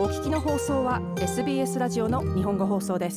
お聞きの放送は SBS ラジオの日本語放送です。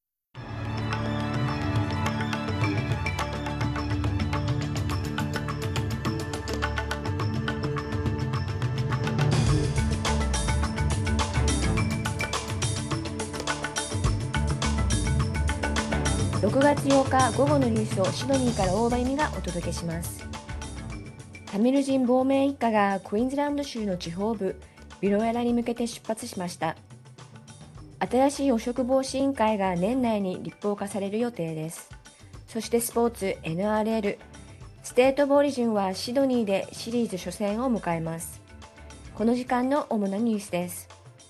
6月8日午後のニュースをシドニーから大場由美がお届けします。タミル人亡命一家がクイーンズランド州の地方部ビロエラに向けて出発しました。新しい汚職防止委員会が年内に立法化される予定です。そしてスポーツ NRL ステートオブオリジンはシドニーでシリーズ初戦を迎えます。この時間の主なニュースです。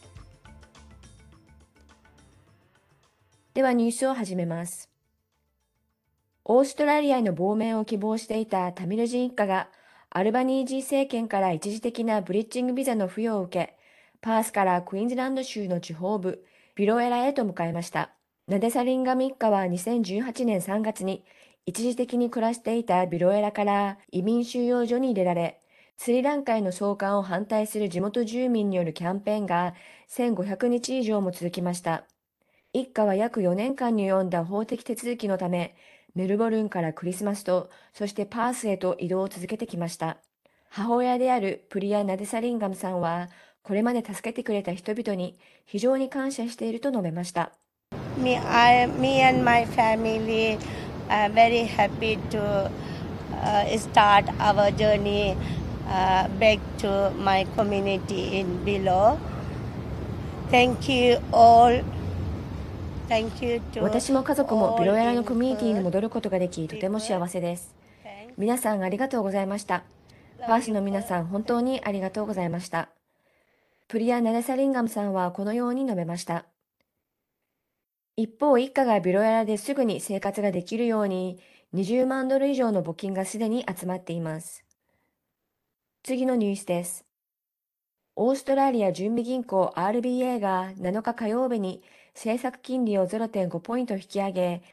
ではニュースを始めます。オーストラリアへの亡命を希望していたタミル人一家がアルバニージー政権から一時的なブリッジングビザの付与を受け、パースからクイーンズランド州の地方部ビロエラへと向かいました。ナデサリンガム一家は2018年3月に一時的に暮らしていたビロエラから移民収容所に入れられ、スリランカへの送還を反対する地元住民によるキャンペーンが1500日以上も続きました。一家は約4年間に及んだ法的手続きのため、メルボルンからクリスマス島、そしてパースへと移動を続けてきました。母親であるプリア・ナデサリンガムさんは、これまで助けてくれた人々に非常に感謝していると述べました。 Me and my family are very happy to start our journey back to my community in below. Thank you all. 私も家族もビロエラのコミュニティに戻ることができ、とても幸せです。皆さんありがとうございました。パースの皆さん本当にありがとうございました。プリア・ナデサリンガムさんはこのように述べました。一方、一家がビロエラですぐに生活ができるように、20万ドル以上の募金がすでに集まっています。次のニュースです。オーストラリア準備銀行 RBA が7日火曜日に政策金利を 0.5 ポイント引き上げ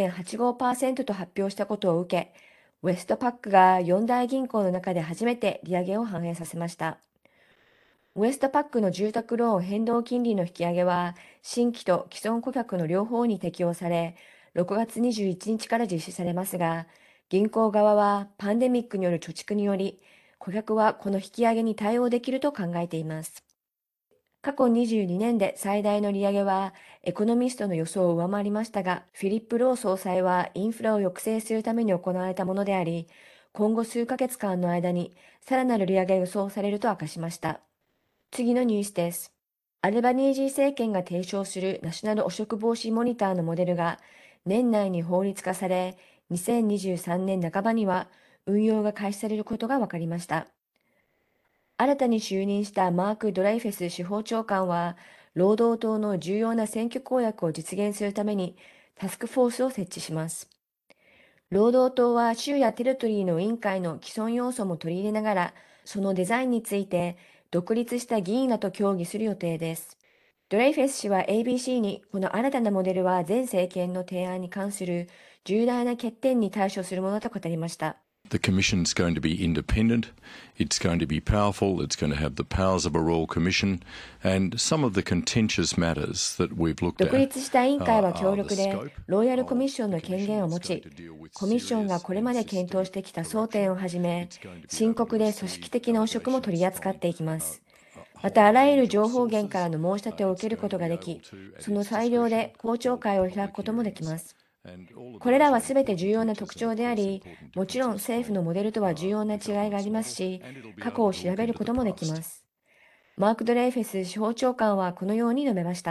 0.85% と発表したことを受け、ウェストパックが4大銀行の中で初めて利上げを反映させました。ウェストパックの住宅ローン変動金利の引き上げは新規と既存顧客の両方に適用され、6月21日から実施されますが、銀行側はパンデミックによる貯蓄により、顧客はこの引き上げに対応できると考えています。過去22年で最大の利上げはエコノミストの予想を上回りましたが、フィリップ・ロー総裁はインフラを抑制するために行われたものであり、今後数ヶ月間の間にさらなる利上げが予想されると明かしました。次のニュースです。アルバニージー政権が提唱するナショナル汚職防止モニターのモデルが年内に法律化され、2023年半ばには運用が開始されることが分かりました。新たに就任したマーク・ドレイフェス司法長官は、労働党の重要な選挙公約を実現するためにタスクフォースを設置します。労働党は州やテリトリーの委員会の既存要素も取り入れながら、そのデザインについて独立した議員らと協議する予定です。ドレイフェス氏は ABC に、この新たなモデルは前政権の提案に関する重大な欠点に対処するものと語りました。 The Commission is going to be independent, it's going to be powerful, it's going to have the powers of a Royal Commission, and some of the contentious matters that we've looked at. 独立した委員会は強力で、ロイヤルコミッションの権限を持ち、コミッションがこれまで検討してきた争点をはじめ、深刻で組織的な汚職も取り扱っていきます。また、あらゆる情報源からの申し立てを受けることができ、その裁量で公聴会を開くこともできます。これらはすべて重要な特徴であり、もちろん政府のモデルとは重要な違いがありますし、過去を調べることもできます。マーク・ドレイフェス司法長官はこのように述べました。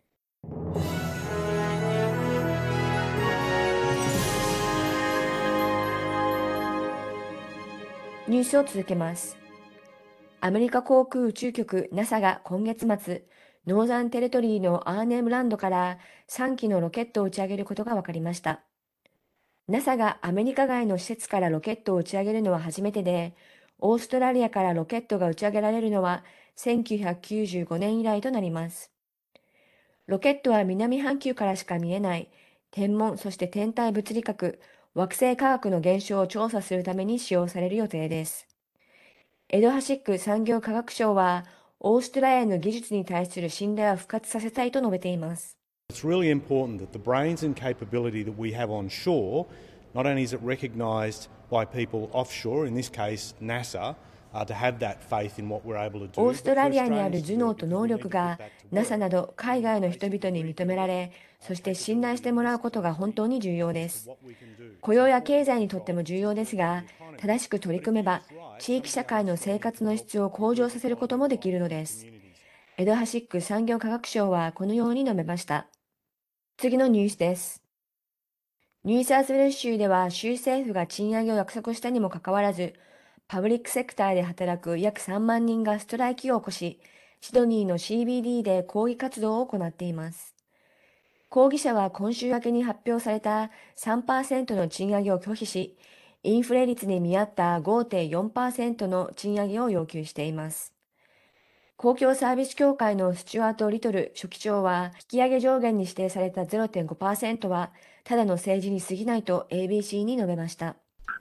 ニュースを続けます。アメリカ航空宇宙局 NASA が今月末、ノーザンテレトリーのアーネムランドから3機のロケットを打ち上げることが分かりました。NASA がアメリカ外の施設からロケットを打ち上げるのは初めてで、オーストラリアからロケットが打ち上げられるのは1995年以来となります。ロケットは南半球からしか見えない天文、そして天体物理学、惑星科学の現象を調査するために使用される予定です。エドハシック産業科学省は、 オーストラリアの技術に対する信頼を復活させたいと述べています。 It's really important that the brains and capability that we have on shore, not only is it recognised by people offshore, in this case NASA, to have that faith in what we're able to do. オーストラリアにある頭脳と能力が NASA など海外の人々に認められ、そして信頼してもらうことが本当に重要です。雇用や経済にとっても重要ですが、正しく取り組めば地域社会の生活の質を向上させることもできるのです。エド・ハシック産業科学省はこのように述べました。次のニュースです。ニューサウスウェルズ州では州政府が賃上げを約束したにもかかわらず、パブリックセクターで働く約3万人がストライキを起こし、シドニーの CBD で抗議活動を行っています。抗議者は今週明けに発表された 3% の賃上げを拒否し、インフレ率に見合った 5.4% の賃上げを要求しています。公共サービス協会のスチュアート・リトル書記長は、引き上げ上限に指定された 0.5% は、ただの政治に過ぎないと ABC に述べました。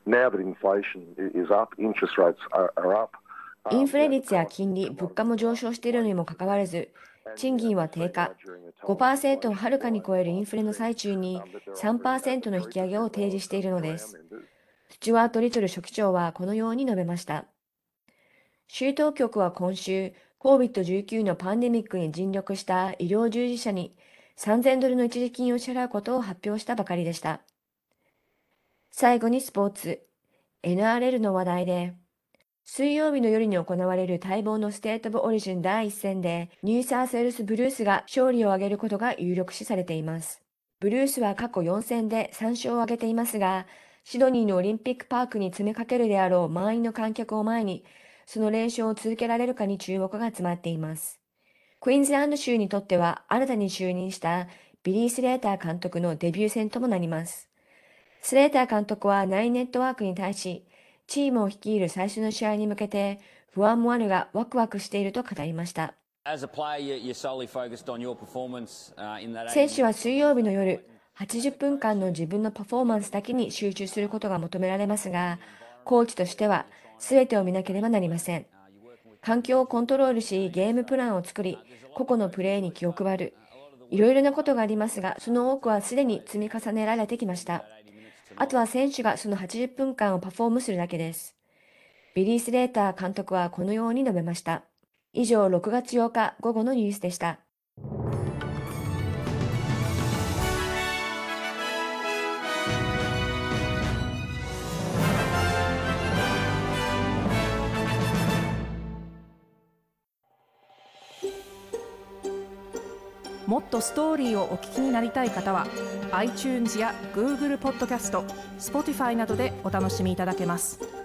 インフレ率や金利、物価も上昇しているのにもかかわらず、賃金は低下、5% をはるかに超えるインフレの最中に 3% の引き上げを提示しているのです。スチュアート・リトル書記長はこのように述べました。州当局は今週、COVID-19 のパンデミックに尽力した医療従事者に$3000の一時金を支払うことを発表したばかりでした。最後にスポーツ、NRL の話題で、水曜日の夜に行われる待望のステート・オブ・オリジン第1戦で、ニューサウスウェルス・ブルースが勝利を挙げることが有力視されています。ブルースは過去4戦で3勝を挙げていますが、シドニーのオリンピックパークに詰めかけるであろう満員の観客を前に、その連勝を続けられるかに注目が集まっています。クイーンズランド州にとっては新たに就任したビリー・スレーター監督のデビュー戦ともなります。スレーター監督はナインネットワークに対し、チームを率いる最初の試合に向けて不安もあるがワクワクしていると語りました。選手は水曜日の夜、80分間の自分のパフォーマンスだけに集中することが求められますが、コーチとしては全てを見なければなりません。環境をコントロールし、ゲームプランを作り、個々のプレーに気を配る。いろいろなことがありますが、その多くはすでに積み重ねられてきました。あとは選手がその80分間をパフォームするだけです。ビリー・スレーター監督はこのように述べました。以上、6月8日午後のニュースでした。 もっとストーリーをお聞きになりたい方は iTunes や Google ポッドキャスト、Spotify などでお楽しみいただけます。